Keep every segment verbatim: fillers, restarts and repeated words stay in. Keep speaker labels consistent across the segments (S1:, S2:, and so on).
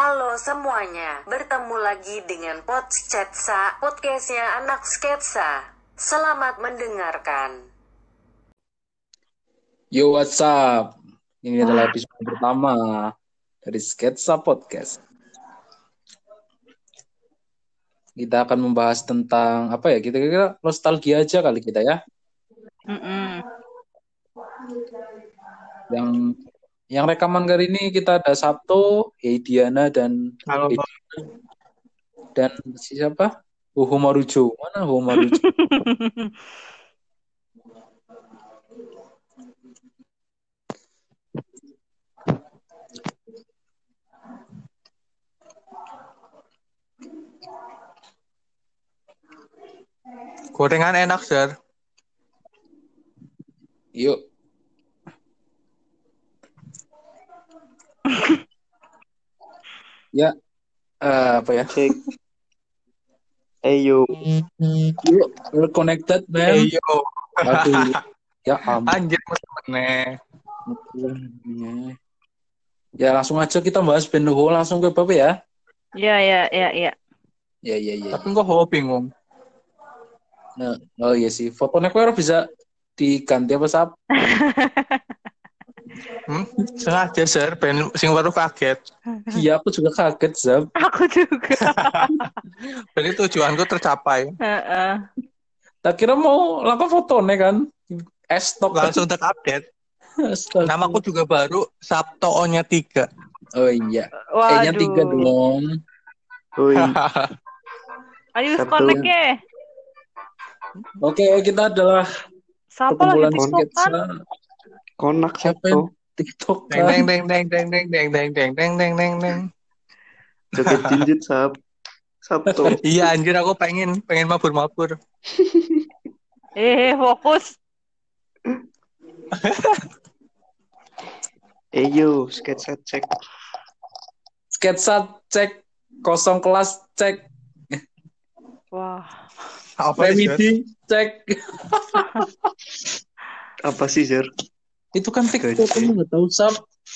S1: Halo semuanya, bertemu lagi dengan Podsketsa, podcastnya anak sketsa. Selamat mendengarkan.
S2: Yo, what's up? Ini adalah
S3: Wah.
S2: episode pertama dari Sketsa Podcast. Kita akan membahas tentang apa ya? Kita kira nostalgia aja kali kita ya.
S3: Mm-mm.
S2: Yang yang rekaman kali ini kita ada Sabto, Hey Diana dan
S4: Halo.
S2: Hey dan siapa? Huhu Marujo. Mana Huhu Marujo?
S4: Gorengan enak, Sir.
S2: Yuk. Ya, uh, apa ya?
S5: Cek. Ayo.
S2: Yuk, we're connected, man.
S4: Hey, yo.
S2: Aduh. Ya ampun.
S4: Anjir, meneh.
S2: Ya langsung aja kita bahas band The Who langsung ke Bapak ya.
S3: Ya, ya, ya, ya.
S2: Ya, ya, ya.
S4: Tapi kok ho bingung.
S2: Nah, oh iya sih. Fotonya kok bisa diganti apa sap?
S4: Hmm? Sengaja, Sir. Ben sing baru kaget.
S2: Iya, aku juga kaget, Zab.
S3: Aku juga.
S4: Jadi tujuanku tercapai.
S3: Heeh.
S2: Tak kira mau lakukan fotonya kan. Estok
S4: Langsung terupdate. Namaku juga baru, Sabto O-nya tiga.
S2: Oh iya.
S3: Waduh.
S2: E-nya tiga dong.
S5: Woi,
S3: Ayo
S5: Satu.
S3: connect ya.
S2: Oke, kita adalah
S3: Siapa lagi
S2: perkumpulan
S3: TikTok
S2: sketsa.
S3: kan?
S5: konak
S2: Siapa yang
S5: Sabto.
S2: TikTok
S4: Deng
S2: kan?
S4: deng deng deng deng deng deng deng deng deng deng deng.
S5: Joget jinjit Sab. Sabto.
S4: Iya anjir, aku pengen pengen mabur-mabur.
S3: Eh, fokus.
S5: Ayo, sketsa cek.
S2: Sketsa cek, kosong kelas cek,
S3: Wah.
S4: Apa sih, Sir?
S2: remedi cek.
S5: Apa sih, Sir?
S2: Itu kan TikTok,
S5: Gaji.
S2: kamu nggak tahu sap.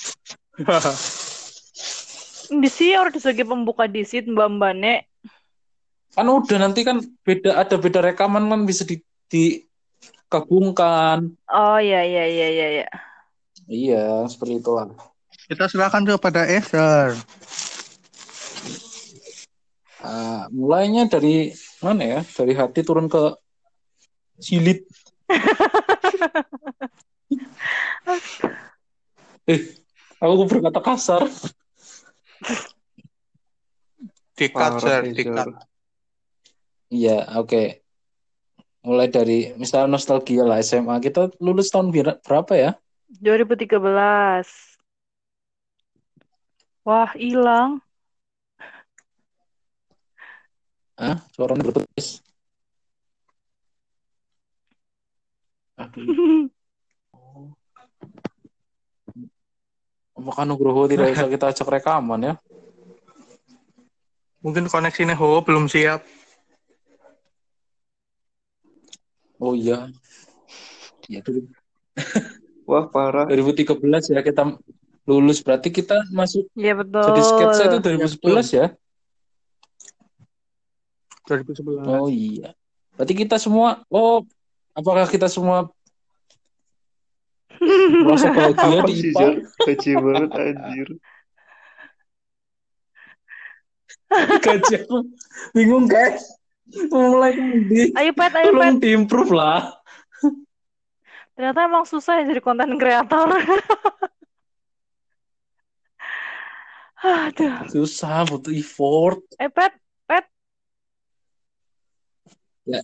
S3: Di sini orang sebagai pembuka disit Mbak Mbane.
S2: Kan udah nanti kan beda ada beda rekaman kan bisa di digabungkan.
S3: Oh iya iya iya iya iya.
S2: Iya, seperti itulah.
S4: Kita serahkan kepada Esther.
S2: Uh, mulainya dari mana ya? Dari hati turun ke silit. eh, aku berkata kasar.
S4: Dikat, Sir.
S5: Parah,
S4: Dikat.
S5: Sir.
S2: Iya, oke. Okay. Mulai dari misalnya nostalgia lah S M A. Kita lulus tahun bir- berapa ya?
S3: dua ribu tiga belas. Wah, hilang.
S2: Hah? Suaranya berputus. Aduh. Apakah Nugroho tidak bisa kita ajak rekaman ya?
S4: Mungkin koneksinya ho belum siap.
S2: Oh iya. Ya, dulu.
S5: Wah, parah.
S2: dua ribu tiga belas ya kita lulus. Berarti kita masuk
S3: Iya betul.
S2: jadi sketsa itu dua ribu sebelas ya?
S4: dua ribu sebelas.
S2: Oh iya. Berarti kita semua, oh apakah kita semua merasa bahagia
S5: Apa
S2: di
S5: sih,
S2: I P A?
S5: Sir? Gaji banget, anjir.
S2: Gaji aku bingung guys. Mulai di
S3: Ayo pet, ayo pet.
S2: tolong diimprove lah.
S3: Ternyata emang susah ya jadi konten kreator. Aduh.
S2: Susah, butuh effort.
S3: Eh pet, pet.
S2: Ya.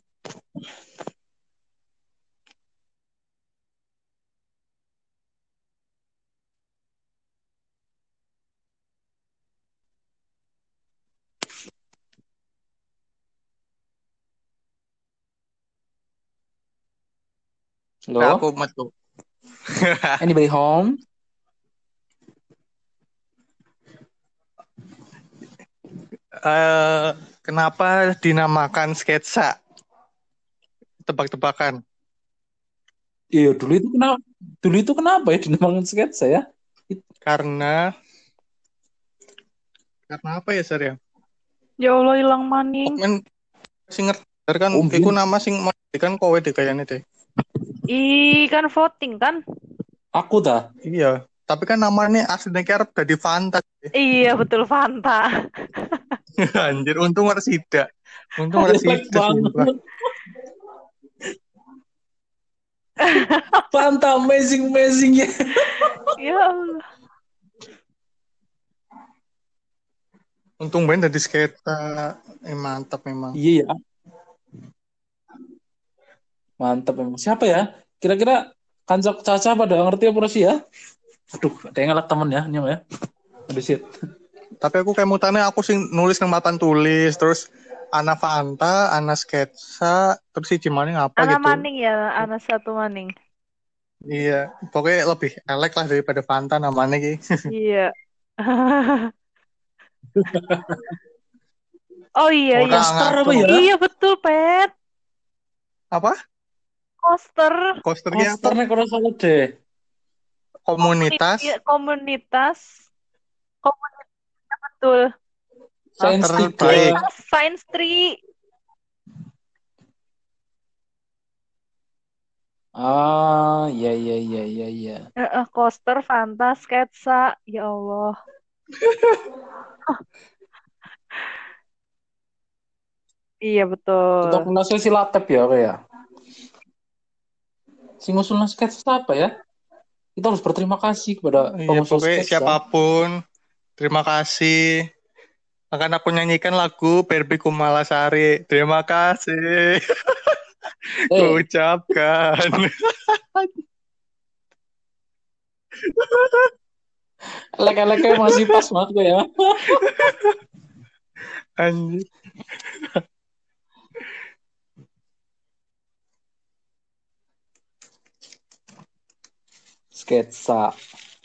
S2: Halo?
S4: Aku metu.
S2: Anybody home?
S4: Uh, kenapa dinamakan sketsa? Tebak-tebakan.
S2: Iya, dulu itu kenapa? Dulu itu kenapa ya dinamakan sketsa ya?
S4: Karena Karena apa ya, Sar ya?
S3: Ya Allah hilang maning.
S4: Men sing ngerti kan
S2: Oh,
S4: iku
S2: Bin.
S4: nama sing mau kan kowe deh kayaknya deh.
S3: Ih, kan voting kan?
S2: Aku dah.
S4: Iya, tapi kan namanya aslinya karep dadi Fanta.
S3: Iya, betul Fanta.
S4: Anjir, untung ora sida. Untung ora
S2: Jelek
S4: sida sumpah.
S2: banget. Fanta amazing amazing ya.
S3: Ya Allah.
S4: Untung ben dadi sketa. Eh mantap memang.
S2: Iya ya. Mantap memang. Siapa ya? Kira-kira Kancok Caca pada ngerti apa sih ya? Aduh, ada yang ngelak temen ya, nyam ya. Aduh shit.
S4: Tapi aku kayak mutane aku sing nulis nang papan tulis, terus ana Fanta, ana sketsa, terus si Cimani ngapa
S3: Anak
S4: gitu.
S3: maning ya, anak satu maning.
S4: Iya, pokoknya lebih elek lah daripada Fanta namanya ki.
S3: Iya. Oh iya iya.
S4: Orang
S2: Poster apa
S4: ngaco.
S2: ya?
S3: Iya betul, Pet.
S4: Apa?
S3: Poster
S4: Poster ki apa?
S2: Posternya kalau salah deh.
S4: Komunitas
S3: Iya, komunitas. Komunitas betul.
S2: Sains
S4: terbaik.
S2: tiga.
S3: Science Tree.
S2: Ah, iya iya iya iya iya.
S3: Heeh, coaster, Fanta, sketsa. Ya Allah. Iya betul.
S2: Untuk kelasnya si Latep ya kayak. Si ngusulnya sketsa apa ya? Kita harus berterima kasih kepada
S4: Iya,
S2: pengusul
S4: pokoknya
S2: sketsa.
S4: siapapun, terima kasih. Akan aku nyanyikan lagu Barbie Kumalasari. Terima kasih.
S2: Eh,
S4: Ku ucapkan.
S2: elek-eleknya masih pas banget gue ya.
S4: Anjir.
S2: Sketsa.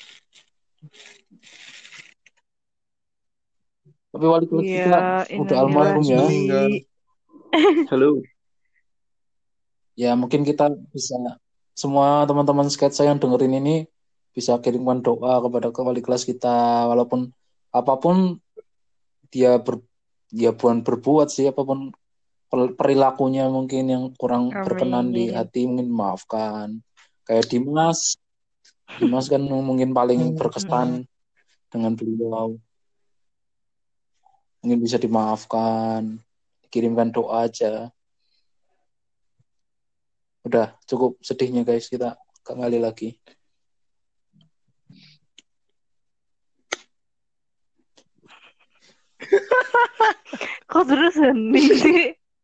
S2: Tapi wali kelas
S3: Iya,
S2: kita udah almarhum ya.
S4: Meninggal.
S5: Halo.
S2: Ya mungkin kita bisa semua teman-teman sketsa yang dengerin ini bisa kirimkan doa kepada ke wali kelas kita, walaupun apapun dia ber, dia bukan berbuat sih, apapun per- perilakunya mungkin yang kurang berkenan di
S3: Amin.
S2: hati, mungkin maafkan. Kayak Dimas, Dimas kan mungkin paling berkesan dengan beliau, mungkin bisa dimaafkan, dikirimkan doa aja. Udah cukup sedihnya guys, kita kembali lagi.
S3: Kok terus hening sih?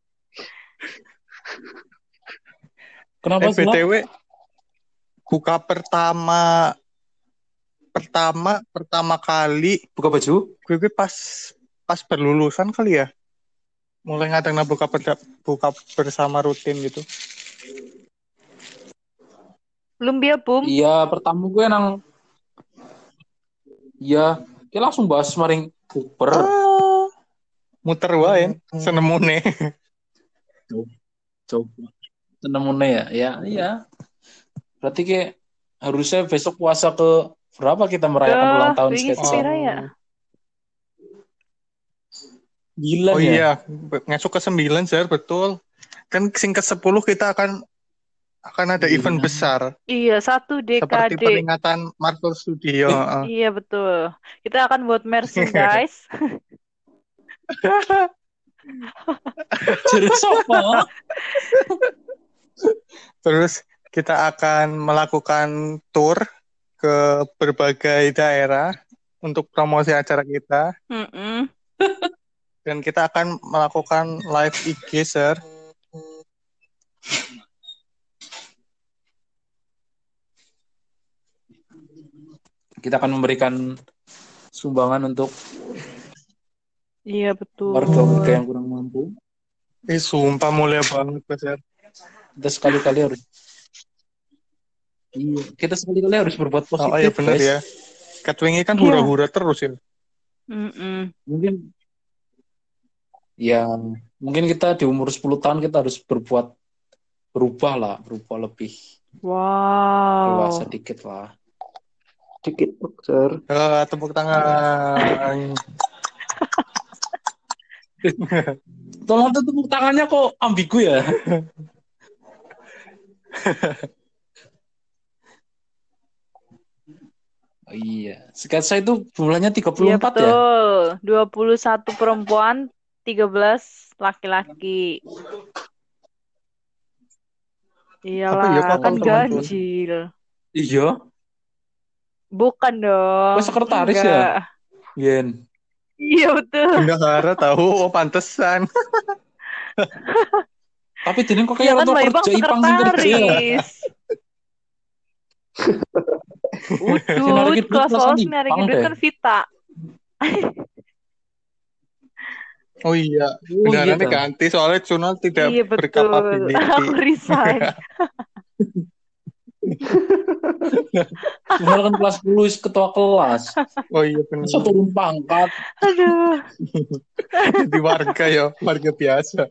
S2: Kenapa
S4: Eh,
S2: sih?
S4: B T W, buka pertama, pertama, pertama kali,
S2: Buka baju?
S4: gue, gue pas, pas berlulusan kali ya. Mulai ngadang buka, perda- buka bersama rutin gitu.
S3: Belum dia boom.
S2: Iya, pertama gue nang iya, dia langsung bahas maring Cooper.
S4: Ah, muter wae, senemune.
S2: Coba. Tenemune ya? Ya, iya. Berarti kayak harusnya besok puasa ke berapa kita merayakan
S3: Dah,
S2: ulang tahun
S3: wingi
S2: sketsa?
S3: sepira ya?
S2: Gila
S4: Oh
S2: ya?
S4: iya, ngesuk ke sembilan, Zer, betul. Kan sing ke sepuluh kita akan akan ada
S2: Iya.
S4: event besar.
S3: Iya, satu
S4: Seperti
S3: D K D.
S4: peringatan Marvel Studio. heeh.
S3: Iya betul. Kita akan buat merchandise.
S2: Jadi sopo?
S4: Terus kita akan melakukan tour ke berbagai daerah untuk promosi acara kita.
S3: Mm-mm.
S4: Dan kita akan melakukan live I G, Sir.
S2: Kita akan memberikan sumbangan untuk
S3: Iya betul.
S2: warga-warga yang kurang mampu.
S4: Eh, sumpah mulia banget, Sir.
S2: Kita sekali-kali harus Iya, kita sekali-kali harus berbuat positif,
S4: Oh iya benar
S2: guys.
S4: ya. Katwingi kan
S3: Iya.
S4: hura-hura terus ya.
S3: Mm-mm.
S2: Mungkin ya, mungkin kita di umur sepuluh tahun kita harus berbuat berubah lah, berubah lebih
S3: Wow.
S2: dewasa dikit lah.
S5: Dikit, Sir.
S4: Eh, tepuk tangan.
S2: Tolong tuh tepuk tangannya kok ambigu ya. Oh, iya, sketsa itu bulannya tiga puluh
S3: Iya
S2: empat ya?
S3: betul. dua puluh satu perempuan, tiga belas laki-laki.
S4: Apa
S3: Iyalah,
S4: ya kok
S3: kan
S4: teman-teman Cun?
S3: ganjil.
S2: Iya,
S3: Bukan dong.
S2: kok sekretaris ya,
S3: Enggak.
S2: Yen?
S3: Iya betul.
S4: Bendahara tahu, oh pantesan.
S2: Tapi Dini kok
S3: Iya
S2: kayak
S3: kan
S2: orang
S3: Mbak Ibang
S2: kerja, Ipang sing kerja ya?
S3: sekretaris.
S2: Sinar
S3: Udut,
S2: iki duit
S3: kelas
S2: perasaan
S3: lolos nyari
S2: Ipang
S3: duit
S2: deh.
S3: kan Vita.
S4: Oh iya,
S2: Oh iya
S4: bendarannya
S2: dah.
S4: ganti soalnya Cunal tidak
S3: Iya betul.
S4: berkapability.
S3: Aku resign.
S2: Cuma kan kelas sepuluh is ketua kelas.
S4: Oh iya benar.
S2: Masa turun pangkat?
S3: Aduh.
S4: Jadi warga ya, warga biasa.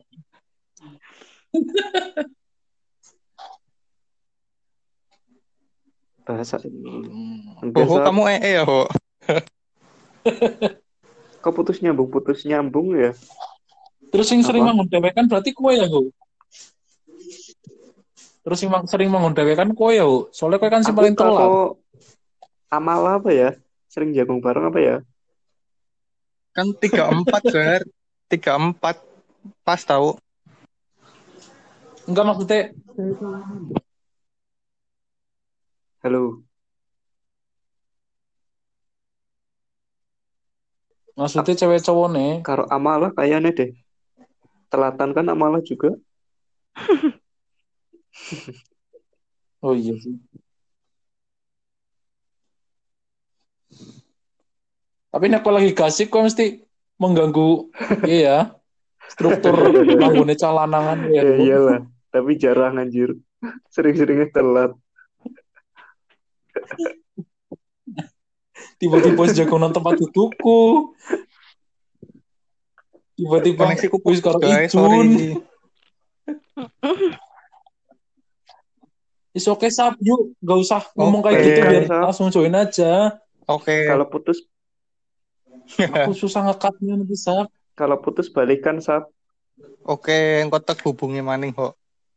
S5: Bahasa
S2: Hmm.
S4: Oh,
S5: biasa
S4: kamu ee ya, Ho?
S5: kok putus nyambung putus nyambung ya.
S2: Terus yang sering
S5: Apa?
S2: mengondewekan berarti kue ya, Hu? Terus yang mang- sering mengondewekan kue ya, Hu? Soalnya kue kan si
S5: Aku
S2: paling telat.
S5: kalau amal apa ya? Sering jagung bareng apa ya?
S4: Kan tiga empat, Ger. tiga empat. Pas tahu.
S2: Enggak maksudnya,
S5: Halo.
S2: maksudnya cewek cowok nih.
S5: Kalau amalah kayaknya deh. Telatan kan amalah juga.
S2: Oh iya sih. Tapi nek kau lagi gasik kau mesti mengganggu iya ya, struktur bangunnya calanangan ya.
S5: Ya iyalah. Tapi jarang anjir. Sering-seringnya telat.
S2: Tiba-tiba sejagoan tempat dudukku. Tiba-tiba
S4: Koneksiku
S2: wis
S4: putus,
S2: karo
S4: guys.
S2: Ijun.
S4: Sorry.
S2: Is oke Sab, yuk gak usah ngomong kayak
S4: Oke.
S2: gitu biar
S5: Sab.
S2: langsung join aja.
S4: Oke.
S5: Kalau putus
S2: Aku susah ngekatnya nanti Sab.
S5: kalau putus balikan Sab.
S4: Oke, engko tek hubungi maning, Ho.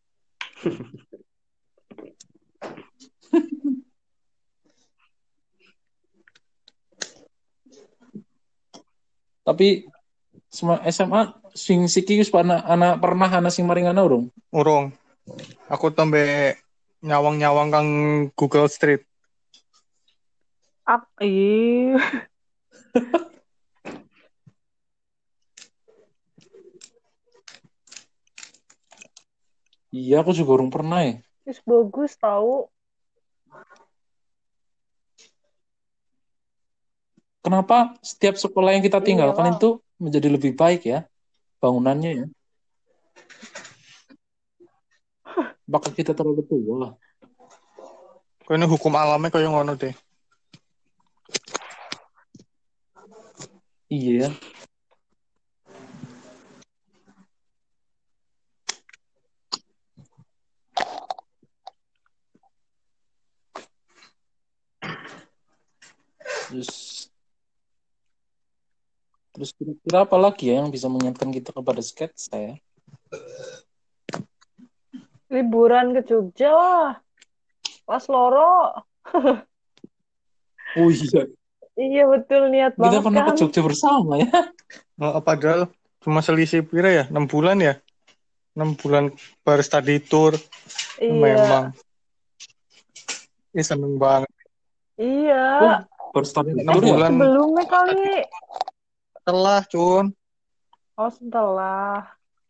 S2: Tapi semua S M A sing siki wis pernah anak pernah ana sing maringana urung.
S4: Urung. Aku tembe nyawang-nyawang kang Google Street.
S3: Ap, iya.
S2: Iya, aku juga urung pernah ya.
S3: Terus bagus tahu.
S2: Kenapa setiap sekolah yang kita tinggalkan
S3: Iyalah.
S2: itu menjadi lebih baik ya bangunannya ya? Bakal kita terlalu tua.
S4: Kayaknya hukum alamnya kayak ngono deh.
S2: Iya. Terus terus kira-kira apa lagi ya yang bisa mengingatkan kita kepada sketsa ya?
S3: Liburan ke Jogja lah. Pas loro.
S2: Oh iya,
S3: Iya betul niat
S2: kita
S3: banget
S2: pernah ke
S3: kan.
S2: Jogja bersama ya.
S4: Oh, padahal cuma selisih pira ya? enam bulan ya? enam bulan baru study tour.
S3: Iya.
S4: Memang. Ih, seneng banget.
S3: Iya.
S2: Oh, baru start
S4: enam
S2: tour ya?
S4: bulan
S3: Sebelumnya kali.
S4: setelah, Cun.
S3: Oh setelah.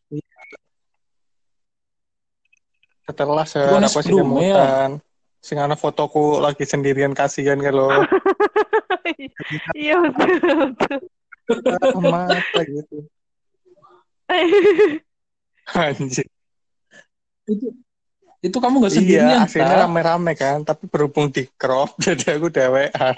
S4: Setelah se
S2: Bukan
S4: apa sih
S2: sebelumnya ya?
S4: kemutan. Sing ana fotoku lagi sendirian kasihan kalau
S3: Iya betul betul.
S4: mata gitu. Anjir.
S2: Itu itu kamu nggak
S4: Iya,
S2: sendirian,
S4: aslinya
S2: Ta?
S4: rame-rame kan, tapi berhubung di crop jadi aku dewean.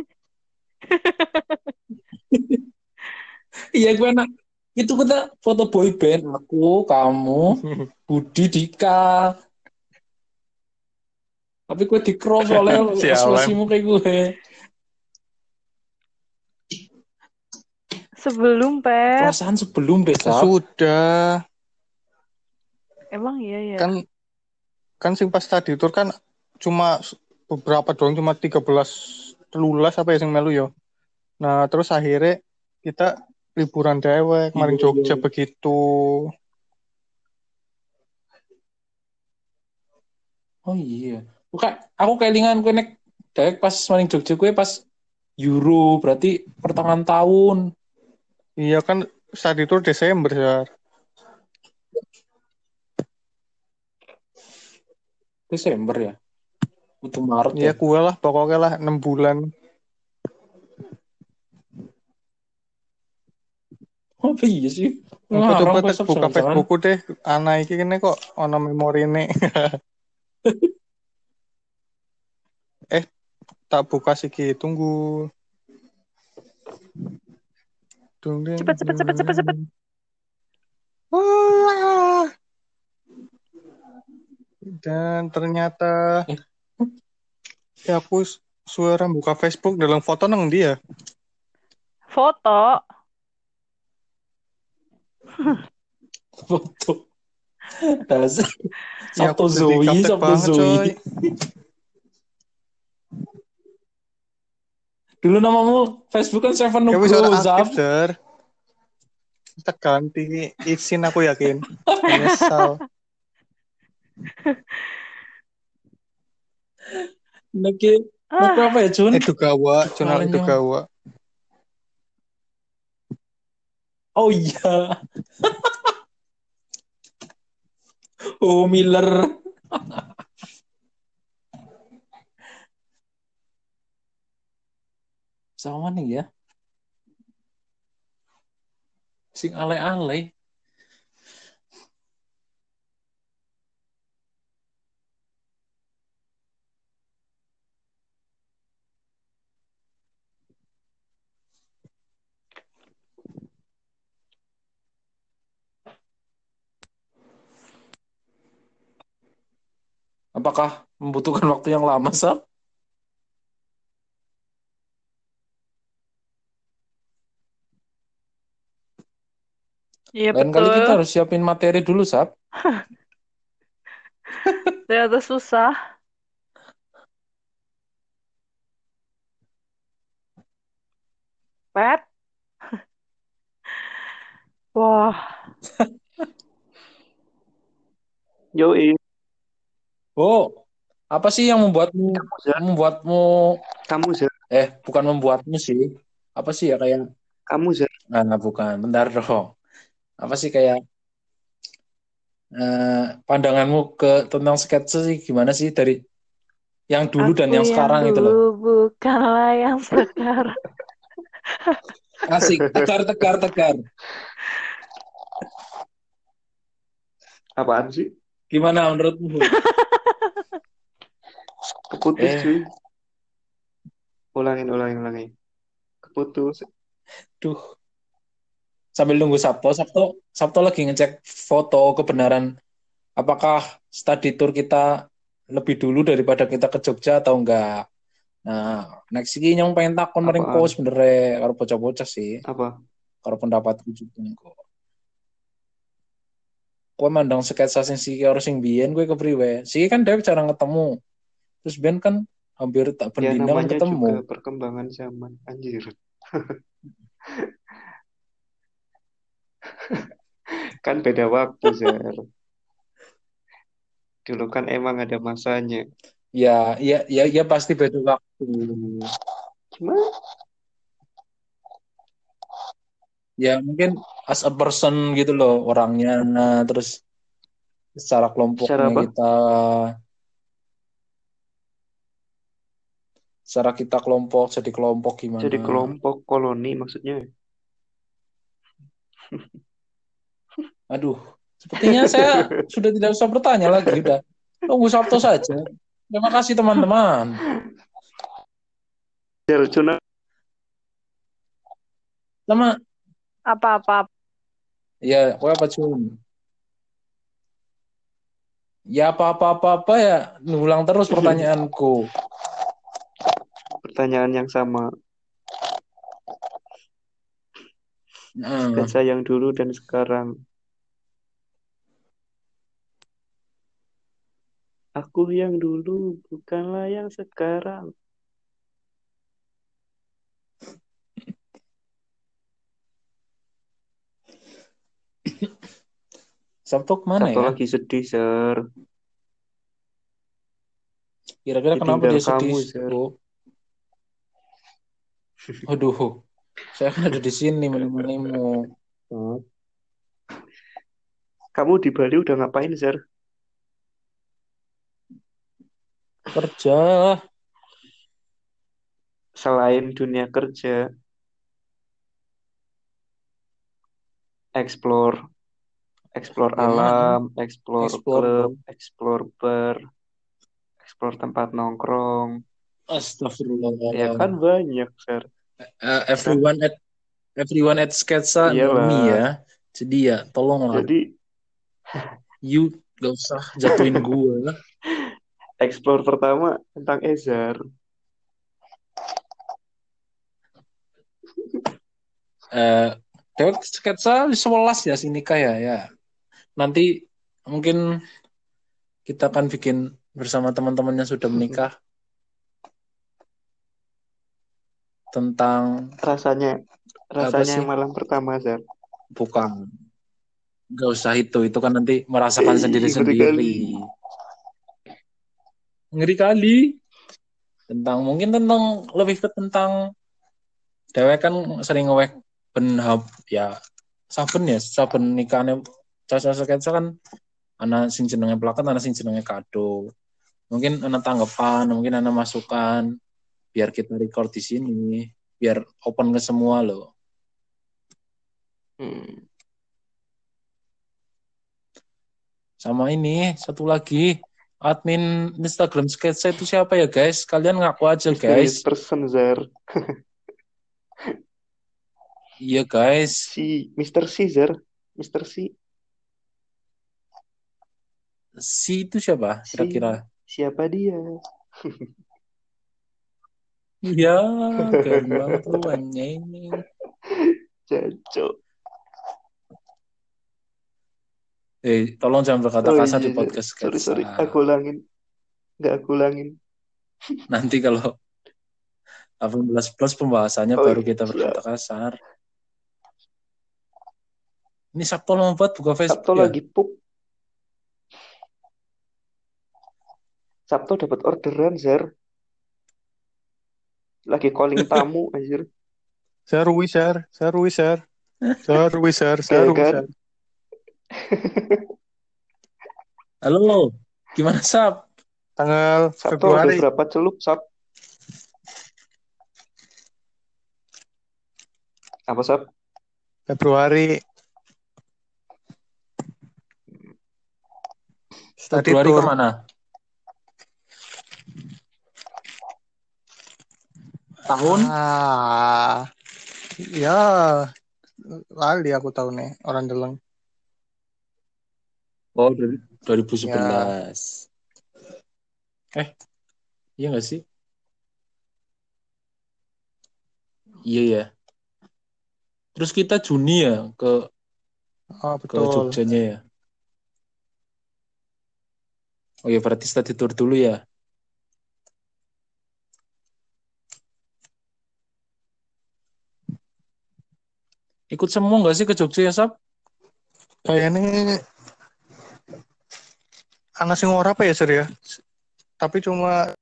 S2: Iya, gue enak. Itu kita foto boy band aku, kamu, Budi, Dika. Tapi gue di cross soalnya
S4: Sialan.
S2: ekspresimu kayak gue.
S3: Sebelum, Pep.
S2: Perasaan sebelum deh, Sap.
S4: Sudah.
S3: Emang iya ya.
S4: Kan kan sing pas tadi tur kan cuma beberapa doang, cuma tiga belas telulas apa ya sing melu yo. Nah, terus akhirnya kita liburan dewek maring
S2: Iya,
S4: Jogja
S2: iya.
S4: begitu.
S2: Oh iya. Bukan, aku kelingan kowe nek dewek pas maring Jogja kowe pas Euro, berarti pertengahan tahun.
S4: Iya kan tadi tur Desember ya.
S2: Desember ya. Untuk Maret
S4: Iya
S2: ya.
S4: gue lah pokoknya lah enam bulan.
S2: Oh iya sih.
S4: Engko coba
S2: Ngarang
S4: tek
S2: besok
S4: buka
S2: jangan-jangan.
S4: Facebookku deh. Anak iki kene kok ono memorine. eh tak buka siki tunggu. Dung, ding,
S3: Cepet, cepet, cepet, cepet, cepet.
S4: Wah. Dan ternyata
S2: Eh.
S4: ya aku suara buka Facebook dalam foto nang dia.
S3: Foto.
S2: Foto. Dasar.
S4: Ya
S2: Sabtu
S4: aku jadi
S2: Zoe,
S4: gaptek
S2: Sabtu
S4: banget
S2: Zoe.
S4: coy.
S2: Dulu namamu Facebook kan Seven
S4: Ya wis ora
S2: Nugroho, Zap.
S4: aktif der. Kita ganti izin aku yakin. Menyesal.
S2: Niki, niki
S3: Ah,
S2: apa ya, Jun?
S4: Itu gawa, jurnal itu
S2: Lainnya.
S4: gawa.
S2: Oh iya. Oh, Miller. Sama nih ya. Sing ale-ale. Apakah membutuhkan waktu yang lama, Sab?
S3: iya
S2: Lain kali
S3: betul.
S2: kita harus siapin materi dulu, Sab.
S3: Ternyata susah. Pep. Wah,
S5: Yoi,
S2: Oh, apa sih yang membuatmu
S5: kamu Zer,
S2: membuatmu
S5: kamu Zer,
S2: eh bukan membuatmu sih. Apa sih ya kayak
S5: kamu Zer.
S2: nah, bukan. Bentar dong. Apa sih kayak eh, pandanganmu ke tentang sketsa sih gimana sih dari yang dulu dan
S3: aku
S2: yang
S3: yang
S2: sekarang itu loh.
S3: dulu bukanlah yang sekarang.
S2: Asik, tegar tegar tegar.
S5: Apaan sih?
S2: Gimana menurutmu?
S5: Keputus
S2: Eh,
S5: cuy. Ulangin, ulangin, ulangin. Keputus.
S2: duh. Sambil nunggu Sabto, Sabto, Sabto lagi ngecek foto kebenaran apakah study tour kita lebih dulu daripada kita ke Jogja atau enggak. Nah, next iki nyong pengen takon maring
S5: Apaan?
S2: ko sebenarnya karo bocah-bocah sih,
S5: Apa?
S2: karo pendapatku juga kok. Kowe mandang sketsa sing siki karo sing biyen kowe kepriwe? Siki kan dhewe jarang ketemu. Terus biyen kan hampir tak
S5: Ya
S2: bendina kan
S5: namanya
S2: ketemu.
S5: juga perkembangan zaman. Anjir. Kan beda waktu, Zer. Dulu kan emang ada masanya.
S2: Ya, ya, ya, ya pasti beda waktu.
S5: Gimana?
S2: Ya mungkin as a person gitu loh orangnya. Nah, terus secara
S5: Secara
S2: kelompoknya
S5: apa?
S2: kita, secara kita kelompok jadi kelompok gimana?
S5: Jadi kelompok koloni maksudnya.
S2: Aduh, sepertinya saya sudah tidak usah bertanya lagi. Udah, tunggu Sabto saja. Terima kasih teman-teman.
S5: Zer, Juna.
S2: Sama,
S3: Apa-apa.
S2: ya, kowe apa Jun? Ya apa-apa-apa ya, ngulang terus pertanyaanku.
S5: Pertanyaan yang sama.
S2: Heeh.
S5: Sketsa yang dulu dan sekarang. Aku yang dulu bukanlah yang sekarang.
S2: Sabtu kemana
S5: Sabtu
S2: ya?
S5: lagi sedih, Sir.
S2: Kira-kira kenapa
S5: Ditinggal
S2: dia sedih?
S5: kamu, Sir.
S2: Oh, aduh, saya kan ada di sini menemanimu.
S5: Oh. Kamu di Bali udah ngapain, Sir?
S2: Kerja.
S5: Selain dunia kerja, explore, explore
S2: Gimana?
S5: alam, explore
S2: Explore
S5: klub,
S2: dong.
S5: explore bar, explore tempat nongkrong. Ya
S2: Astagfirullah.
S5: kan banyak, Sir.
S2: Uh,
S5: Kan?
S2: everyone at everyone at Sketsa know me
S5: Iyalah.
S2: ya. Jadi ya, tolonglah.
S5: Jadi
S2: You gak usah jatuhin gue.
S5: explore pertama tentang Ezar.
S2: Eh, Dewek Sketsa sebelas ya sini ya ya. Nanti mungkin kita akan bikin bersama teman-teman yang sudah menikah tentang
S5: Rasanya,
S2: apa
S5: rasanya
S2: sih?
S5: yang malam pertama, Zar.
S2: Bukan. Gak usah itu, itu kan nanti merasakan
S5: Eh,
S2: sendiri-sendiri. Ngeri kali. Tentang mungkin tentang lebih ke tentang dewek kan sering ngewek ben hub ya saben ya saben nikahane Caca Sketsa kan ana sing jenenge plakat ana sing jenenge kado. Mungkin ana tanggapan, mungkin ana masukan biar kita record di sini, biar open ke semua loh.
S5: Hmm.
S2: Sama ini satu lagi admin Instagram Sketsa itu siapa ya guys? Kalian ngaku aja
S5: Mysterious
S2: guys.
S5: person, Zar.
S2: Iya guys.
S5: Si mister C, Zar. mister C.
S2: Si itu siapa kira-kira?
S5: Si, siapa dia?
S2: Iya, keren banget lu anjing.
S5: Jancok.
S2: Eh, tolong jangan berkata
S5: Oh
S2: kasar
S5: iya,
S2: di
S5: Zar.
S2: podcast
S5: Sorry,
S2: Sketsa.
S5: sorry. Aku ulangin. Nggak aku ulangin.
S2: Nanti kalau delapan belas plus pembahasannya
S5: Oh
S2: baru
S5: iya,
S2: kita berkata
S5: siap.
S2: kasar. Ini Sabtu lama banget buka Facebook
S5: Sabtu
S2: ya?
S5: lagi pup. Sabtu dapat orderan, Zar. Lagi calling tamu, anjir.
S4: Saya Rui, Sir. Saya Rui, Sir. Saya Rui, Sir. Saya
S5: Kayak
S4: Rui,
S5: kan?
S4: Sir.
S2: Halo, gimana Sab?
S4: Tanggal
S5: Sabtu udah
S4: Februari.
S5: berapa celup, Sab? Apa, Sab?
S4: Februari. Study
S2: Februari
S4: tour.
S2: kemana? Tahun?
S4: Ah, ya, lali aku tahu nih orang Deleng.
S2: Oh, dari dua ribu
S4: Ya,
S2: sebelas. Eh, iya nggak sih? Iya ya. Terus kita Juni ya ke
S4: oh
S2: ke
S4: betul.
S2: Jogjanya ya. Oh ya berarti study tour dulu ya. Ikut semua nggak sih ke Jogja ya Sab?
S4: Kayaknya anak sing ora apa ya, Sir ya? Tapi cuma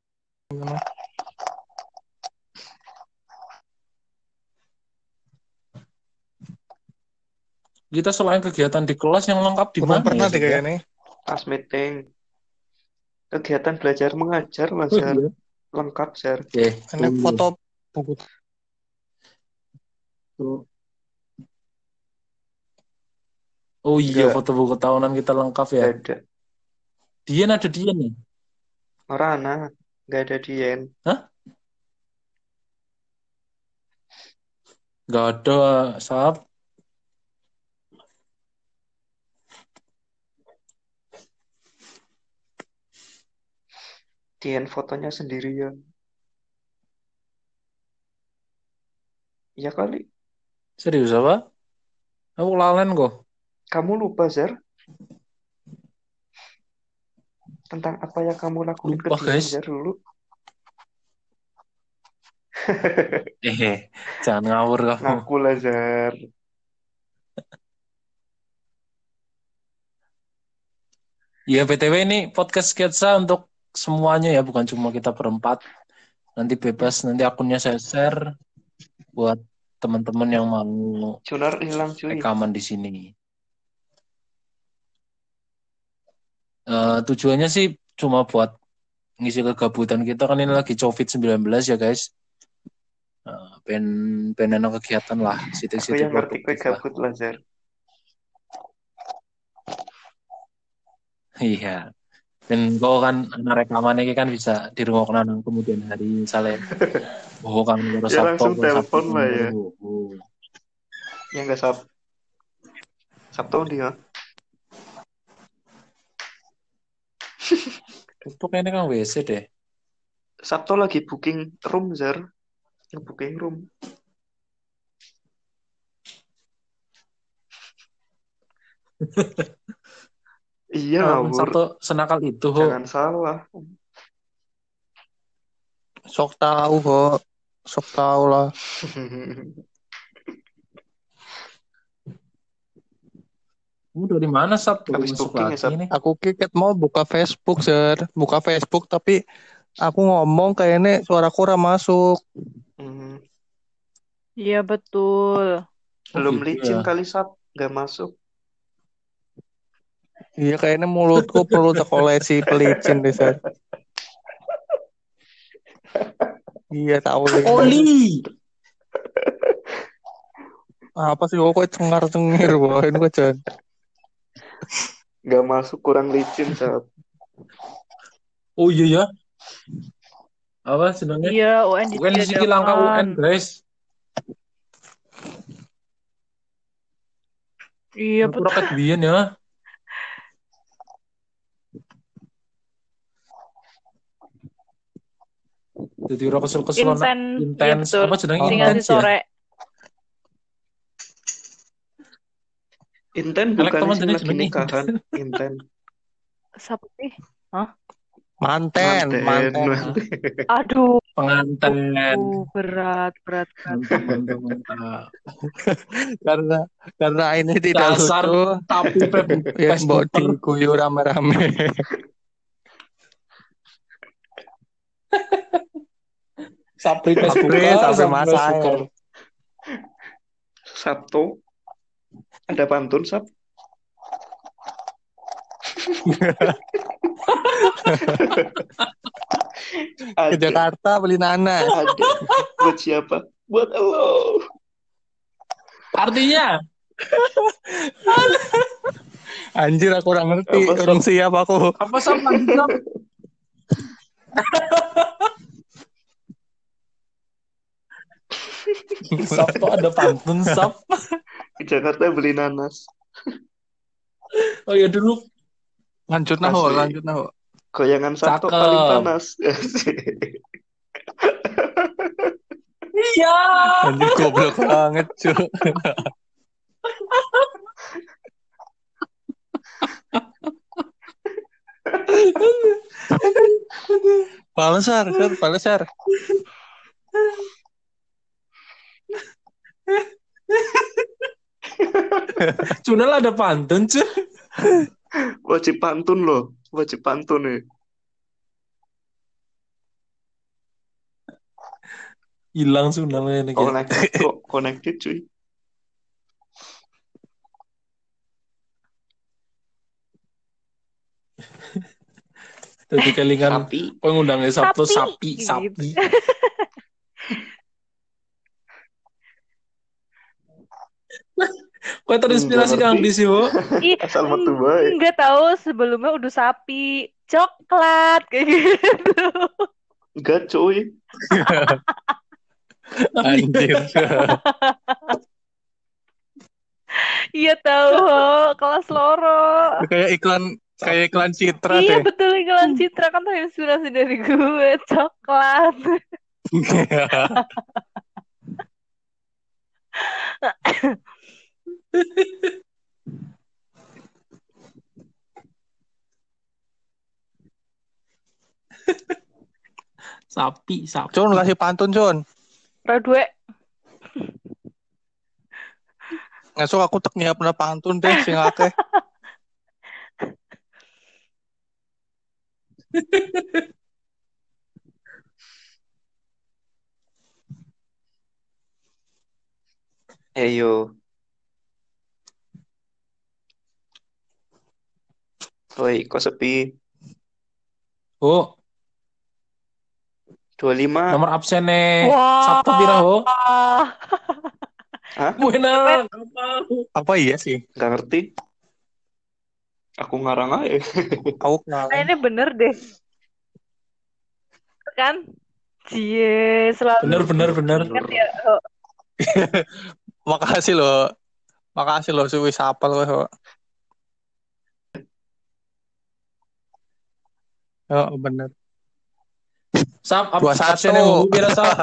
S2: Kita selain kegiatan di kelas yang lengkap di
S4: belum
S2: mana
S4: pernah
S2: ya
S4: deh
S2: Sab ya?
S4: kayaknya.
S5: Pas meeting. Kegiatan belajar mengajar lah,
S2: Oh
S5: Zar.
S2: iya.
S5: Lengkap, Zar.
S2: Eh,
S4: Ini
S2: tunggu.
S4: foto buku.
S2: Oh iya,
S5: Nggak,
S2: foto buku tahunan kita lengkap ya.
S5: nggak ada.
S2: Dian ada Dian nih.
S5: Orana, nggak ada Dien.
S2: Hah? Gak ada, Sab.
S5: Dien fotonya sendirian. Ya kali.
S2: Serius apa? Aku lalen kok.
S5: Kamu lupa, Zer, tentang apa yang kamu lakuin ke
S2: Lupa
S5: dia,
S2: guys.
S5: Zer, dulu?
S2: Eh, jangan ngawur kamu.
S5: Ngaku lah, Zer.
S2: Ya, B T W ini podcast sketsa untuk semuanya ya, bukan cuma kita berempat. Nanti bebas, nanti akunnya saya share buat teman-teman yang mau
S5: Junar hilang, cuy.
S2: rekaman di sini. Eh, tujuannya sih cuma buat ngisi kegabutan kita, kan ini lagi covid sembilan belas ya guys. Uh, pen pen ana kegiatan lah,
S5: Aku
S2: sitik-sitik
S5: yang ngerti kue
S2: produktif lah.
S5: gabut lah, Zer.
S2: Iya. Dan kau kan anak rekaman ini kan bisa dirungokna nang kemudian hari misalnya oh kan baru
S5: Ya
S2: Sabtu
S5: langsung
S2: baru Sabtu
S5: telepon lah ya.
S2: oh, oh.
S5: Ya nggak sab. Sabtu dia.
S2: Itu kayaknya kan W C deh.
S5: Sabtu lagi booking room, Zer. Booking room. Iya,
S2: Walaupun
S5: ngawur.
S2: Sabtu senakal itu ho.
S5: Jangan salah.
S4: Sok tahu kok. Sok tahu lah.
S2: Kamu dari mana Sabtu
S5: Habis
S2: masuk
S5: booking ya,
S2: lagi
S5: Sab.
S2: nih?
S4: Aku kiket mau buka Facebook, Zer. Buka Facebook tapi aku ngomong kayaknya suaraku ora masuk.
S5: Hmm.
S3: Iya betul.
S5: Belum
S2: Oh, gitu
S5: licin
S2: ya.
S5: kali, Sab. Nggak masuk.
S4: Iya kayaknya mulutku perlu terkolesi pelicin deh, Zer. Iya tahu deh.
S2: Oli.
S4: Apa sih kok cengar-cengir bawain gue, Jan.
S5: Nggak masuk, kurang licin, Sab.
S2: Oh iya ya. Apa sebenarnya?
S3: Iya, U N
S2: U N di sini langka U N,
S3: ditiadakan.
S2: guys.
S3: Iya
S2: Aku
S3: betul.
S2: rakyat biyen ya. Jadi ora kesel-keselan
S3: Inten, iya
S2: intens
S3: betul.
S2: apa jenenge
S3: Sing ngasih
S2: intens ya?
S3: sore.
S5: Inten
S2: Elek
S5: bukan
S2: teman
S5: sih
S2: jenis
S5: lagi
S2: jenenge
S5: nikahan. Inten.
S3: Siapa sih? Hah?
S4: Manten,
S5: Manten.
S4: manten.
S3: Aduh,
S2: Penganten.
S3: uh, berat, berat, berat.
S2: Mantap, mantap, mantap.
S4: karena karena ini tidak
S2: Dasar
S4: lucu.
S2: tapi
S4: Ya mbok
S2: Facebooker.
S4: diguyu rame-rame.
S2: Sapri
S4: Sapri,
S2: Facebooker,
S4: sampai
S2: Sapri
S4: masa
S2: Facebooker.
S5: Sabtu. Ada pantun, Sab?
S4: Ke
S5: Ada.
S4: Jakarta beli nanas.
S5: Ada. Buat siapa? Buat lo.
S2: Artinya
S4: Anjir aku kurang ngerti,
S5: Apa,
S4: kurang
S5: Sob?
S4: siap aku.
S2: apa Sap lanjut Sap? Sap tuh ada pantun Sap.
S5: Ke Jakarta beli nanas.
S2: Oh ya dulu
S4: Lanjut nah, Ho,
S5: Asli.
S4: lanjut nah. Ho.
S5: Goyangan Sabtu
S2: Cakep.
S5: paling panas.
S2: iya.
S4: Anjir goblok banget, cuy. Palesar, Sar, palesar.
S2: Cunal ada pantun cuy.
S5: Wajib pantun loh. Wajib pantun nih.
S2: Hilang Cunalnya ini.
S5: Connected kok. Connected cuy.
S2: Jadi kelingan
S5: Sapi.
S2: pengundangnya Sabtu
S3: Sapi.
S2: sapi sapi. Kok terinspirasi
S5: Nggak
S2: Kang
S5: ngerti.
S2: di sih, Bu?
S3: Ih,
S5: Asal metu bae.
S3: nggak tahu sebelumnya udah sapi, coklat kayak gitu.
S5: Enggak cuy.
S4: Anjir.
S3: Iya tahu, Ho. Kelas loro.
S4: Kayak iklan kayak iklan Citra
S3: Iya
S4: deh.
S3: betul, iklan Citra kan terinspirasi dari gue, coklat.
S2: Sapi, sapi.
S4: Cun kasih pantun Cun.
S3: Ora duwe.
S4: Ngesuk aku tek nyiapna pantun deh sing akeh.
S5: Ayo. Woi, kok sepi?
S2: Oh,
S5: dua puluh lima.
S2: nomor absennya
S3: Wah.
S2: Sabtu pira ho?
S5: Hah?
S2: Buena,
S3: Cepet.
S2: apa?
S4: Apa iya sih?
S5: Gak ngerti. Aku ngarang aja.
S4: Aku kenal.
S3: Kayaknya bener deh. Kan? Cie, selalu
S2: Bener, bener, bener.
S3: ingat ya. Oh,
S4: Makasih loh. Makasih loh suwi sapal kowe. Ho. Oh, bener.
S2: Sap, ab-
S4: dua satu.
S2: absennya ngomong pira, Sap?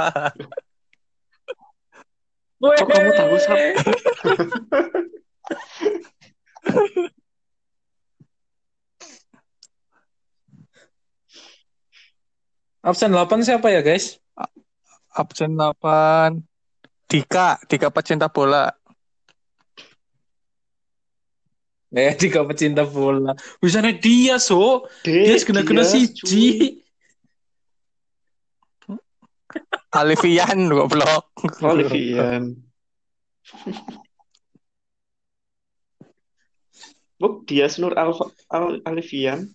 S5: Kok kamu tahu, Sap?
S2: Absen delapan siapa ya, guys?
S4: Absen delapan. Dika, Dika pecinta bola.
S2: Eh, tiga pecinta bola. Bisanya dia, so. Dia
S5: Dek,
S2: kena-kena
S5: Dias,
S2: siji.
S4: Alifian goblok.
S5: Olivian. Buk, Dias Nur Alfa, Al Alifian.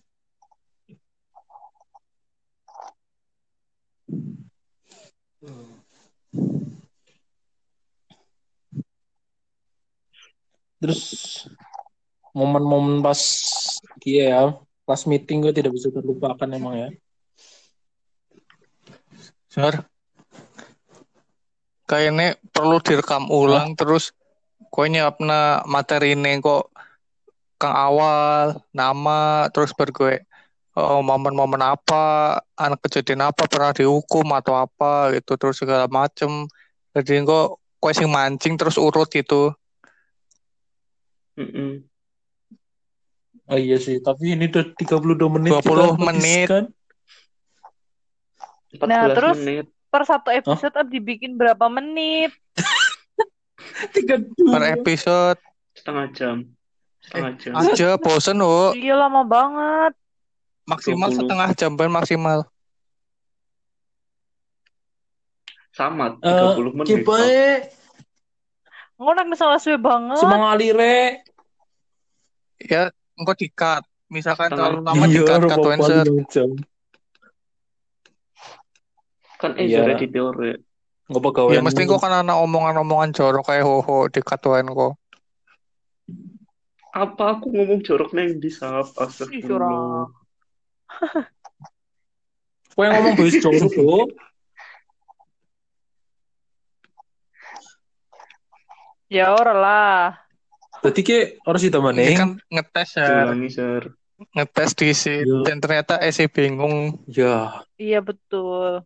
S2: Terus momen-momen pas kia ya, pas meeting gue tidak bisa terlupakan emang ya.
S4: Sir. Kayaknya perlu direkam ulang terus kowe nyiapna materi ini kok kang awal nama terus ber gue oh, momen-momen apa anak kejadian apa pernah dihukum atau apa gitu terus segala macem jadi kok kowe sing mancing terus urut gitu.
S5: Mm-mm.
S2: Oh iya sih, tapi ini udah tiga puluh dua menit
S4: dua puluh
S2: kita
S4: menit.
S2: habiskan.
S3: Nah,
S5: empat belas
S3: terus
S5: menit.
S3: per satu episode oh? dibikin berapa menit?
S2: tiga puluh dua
S4: Per episode
S5: Setengah jam. Setengah jam.
S4: aja bosen oh.
S3: Iya lama banget.
S4: Maksimal
S5: dua puluh.
S4: setengah jam ben maksimal.
S5: Sama tiga puluh
S2: Uh,
S5: menit.
S2: Kipai,
S3: Ngonak salah suwe banget.
S2: semangat alire.
S4: Ya engko di-cut. Misalkan
S5: Setengah.
S4: terlalu lama
S2: Iya,
S4: di-cut
S2: udah
S4: cut
S2: apa
S4: Wenser.
S2: lima jam.
S5: Kan
S2: Iya.
S5: Ezra di teori.
S2: Nggak pegawai.
S4: Ya mesti kok kan ana omongan-omongan jorok kayak hoho di katuan kok.
S5: Apa aku ngomong jorok neng di sap?
S3: Ih,
S5: Astagfirullah.
S3: jorok.
S2: Kau yang ngomong bahas jorok tuh.
S3: Ya ora lah.
S2: Tadi ke harus
S4: Ini
S2: ditemanin.
S4: kan ngetes ya.
S5: Diulangi, Sir.
S4: Ngetes di sini
S2: Iya.
S4: dan ternyata esi bingung.
S2: Ya,
S3: Iya betul.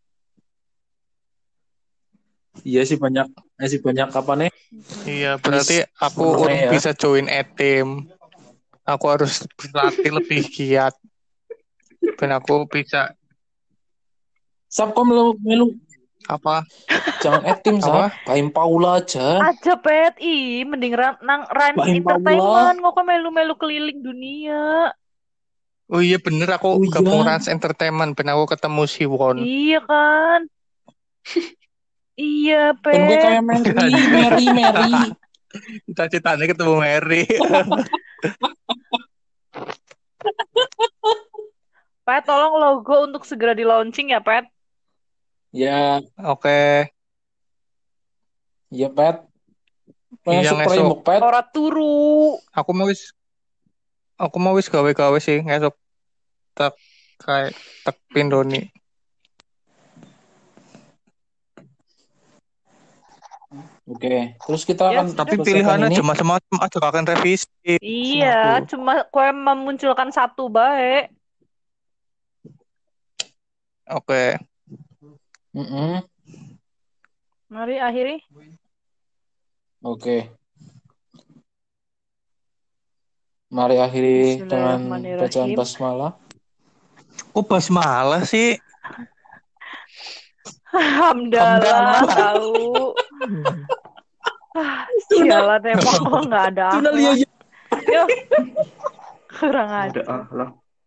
S2: iya sih banyak, eh sih banyak apa nih?
S4: Iya, berarti
S2: Miss
S4: aku
S2: menengah
S4: urung
S2: ya.
S4: bisa join e-team. Aku harus berlatih lebih giat. Dan aku bisa
S2: Sapkom melu, melu
S4: apa?
S2: jangan etim
S4: Apa?
S2: sap, Kaim Paula aja.
S3: Aja pet, ih mending ran, nang Rans
S2: Bahin
S3: Entertainment kok melu-melu keliling dunia.
S4: Oh iya bener aku
S2: Oh iya.
S4: gabung Rans Entertainment ben aku ketemu si Won.
S3: Iya kan? Iya
S2: Kan gue
S3: pet.
S2: kayak Mary, Mary, Mary.
S4: Cita-citanya ketemu Mary.
S3: Pet tolong logo untuk segera di launching ya pet.
S2: Ya,
S4: Oke.
S2: ya Pet.
S4: Iya,
S2: Masuk
S4: ngesuk.
S2: framework Pet.
S3: Ora turu.
S4: Aku mau wis aku mau wis gawe-gawe sih ngesuk tak kayak tak pindoni.
S2: Oke, terus kita
S3: Ya,
S2: akan
S4: Tapi
S2: selesaikan
S4: pilihannya
S2: ini.
S4: cuma macam aja akan revisi.
S3: Iya, cuma kue memunculkan satu baik.
S4: Oke.
S2: Mm-mm.
S3: Mari akhiri.
S2: Oke. Mari akhiri dengan bacaan
S3: Bismillahirrahmanirrahim.
S2: basmalah.
S4: Kok basmalah sih?
S3: Hamdalah
S4: Hamdalah.
S3: tahu. Ah, sialan emang kok nggak ada
S2: Tuna
S3: akhlak.
S2: liya
S3: Yo, kurang
S5: Ada
S3: ajar.
S5: akhlak.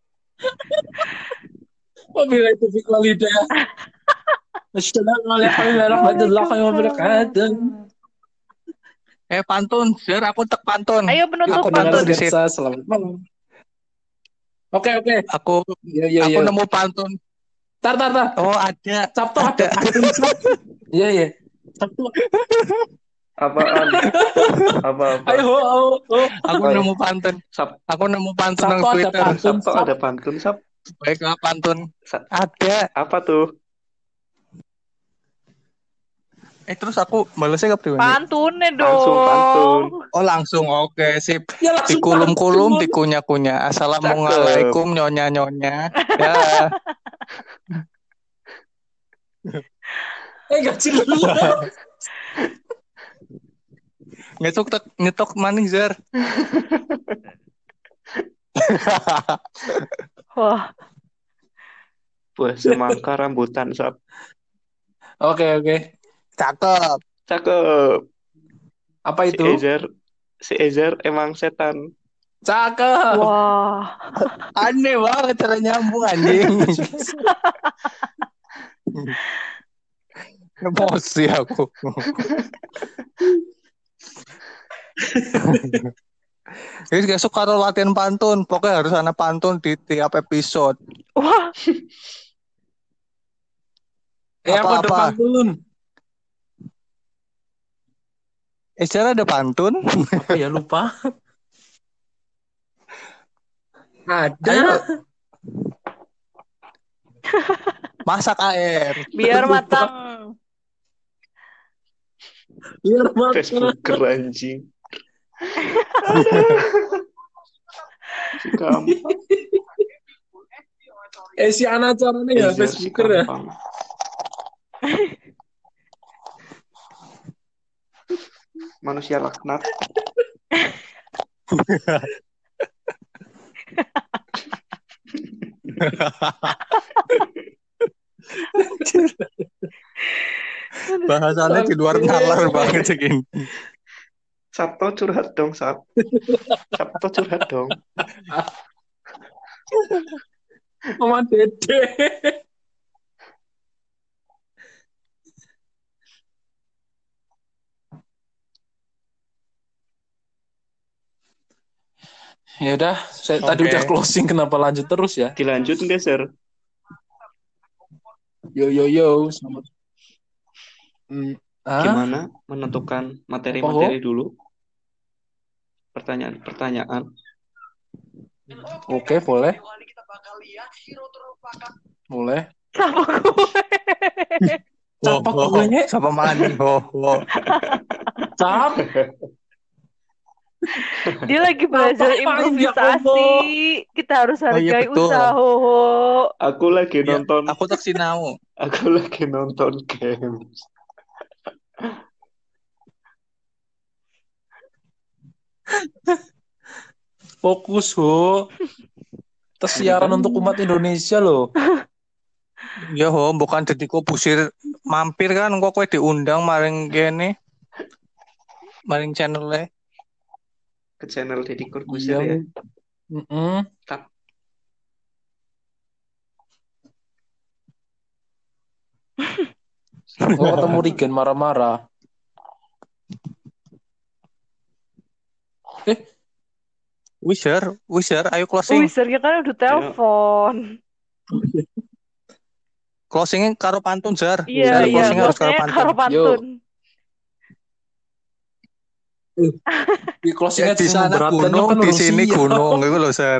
S2: wabillahi taufiq wal hidayah. Assalamualaikum warahmatullahi wabarakatuh.
S4: Eh pantun, Zer, aku tek pantun.
S3: Ayo penutup
S2: Aku dengar
S3: pantun.
S2: sketsa selamat malam. Oke oke.
S4: Aku
S2: Yo yo
S4: aku
S2: yo.
S4: nemu pantun.
S2: Tar tar tar.
S4: Oh, ada.
S2: Sabtu ada
S4: Ada.
S2: pantun Sabtu. Iya iya. Sabtu.
S5: Apaan? Apa apa?
S2: Ayo ho ho ho.
S4: Aku
S5: Oh, iya.
S4: nemu pantun.
S5: Sab
S4: Aku nemu pantun
S2: Sabtu
S4: nang
S2: ada
S4: Twitter.
S2: pantun.
S5: Sabtu
S2: Sab.
S5: ada pantun, Sab.
S4: Baiklah pantun.
S5: Sa-
S4: Ada.
S5: Apa tuh?
S4: Eh terus aku balesnya ke pribadi.
S3: Pantunnya dong.
S5: Langsung pantun.
S4: Oh langsung, oke sip.
S2: Ya langsung
S4: Dikulum-kulum,
S2: pantun.
S4: dikunyah-kunyah. Assalamualaikum nyonya-nyonya. Ya.
S2: Eh gak jelas.
S4: Ngetok tek ngetok maning Zer.
S3: Wah,
S5: Buah semangka rambutan, Sab.
S2: Oke oke.
S4: Cakep.
S5: Cakep.
S2: Apa
S5: Si
S2: itu?
S5: Ezer, si Ezer emang setan.
S2: Cakep.
S3: wah.
S4: Aneh banget cara nyambung anjing. Emosi aku. Jadi besok kalau latihan pantun, pokoknya harus ada pantun di tiap episode.
S3: Wah,
S2: Eh aku ada
S4: Apa-apa?
S2: pantun.
S4: Eh, secara ada pantun?
S2: Apa ya lupa? Ada.
S4: Ayo. Masak air.
S3: biar
S2: Lupa.
S3: matang.
S2: Biar matang.
S5: Facebooker anjing. Si gampang.
S2: Eh si anak caranya ya
S5: Ezer si
S2: Facebooker ya.
S5: gampang. Manusia laknat.
S4: Bahasannya di luar
S2: Oke.
S4: nalar banget segini.
S5: Sabto curhat dong, Sab. Sabto curhat dong.
S2: Sama Dede. Ya udah, saya tadi
S4: Oke.
S2: udah closing, kenapa lanjut terus ya?
S5: Dilanjut nggak, Sir?
S2: Yo yo yo, selamat. Hmm, ah,
S5: Gimana menentukan materi-materi dulu? Pertanyaan-pertanyaan.
S2: oke boleh, boleh.
S3: Sama gue.
S2: Siapa
S4: Oh, oh,
S2: kuenya?
S4: Siapa mani? Oh, oh.
S2: Cap,
S3: Dia lagi belajar
S2: Apaan ya,
S3: improvisasi.
S2: Allah?
S3: Kita harus
S4: Oh, iya,
S3: hargai
S4: betul.
S3: usaha Hoho.
S5: Aku lagi
S4: Ya,
S5: nonton.
S4: aku tak sinau.
S5: Aku lagi nonton games.
S2: Fokus ho. Terus siaran untuk umat Indonesia loh.
S4: Ya, ho, bukan jadi kok pusir mampir kan kok kowe diundang maring kene. Maring channelnya.
S5: Ke channel Deddy Corbuzier
S2: Iya.
S5: ya.
S2: Mm-mm.
S5: Tak.
S2: Oh, ketemu Regen marah-marah. Eh,
S4: Wisher, Wisher, ayo
S3: Wih,
S4: closing.
S3: serius kan udah telepon.
S4: Closingnya karo pantun, Jar.
S3: Iya,
S4: Jar,
S3: iya.
S4: closingnya harus karo
S3: Closingnya
S4: pantun.
S3: karo pantun.
S2: di closingnya
S4: Ya, di sana gunung, di sini
S2: Rusia.
S4: gunung, gitu loh, Sir.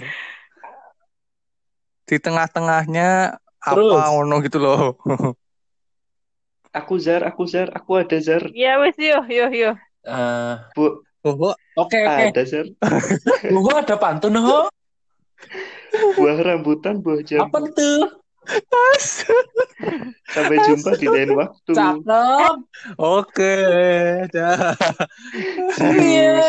S4: Di tengah-tengahnya
S2: Terus?
S4: apa ngono gitu loh.
S5: Aku Zar, aku Zar, aku ada Zar.
S3: Iya, wes yuk, yuk, yuk.
S2: Eh,
S5: Bu,
S4: Oh,
S2: Oke oke.
S5: ada Zar.
S2: Gua ada pantun ho.
S5: Buah rambutan, buah jambu.
S2: Apa tuh?
S5: Sampai jumpa di lain waktu.
S2: Cakep.
S6: Oke, dah.
S5: See you.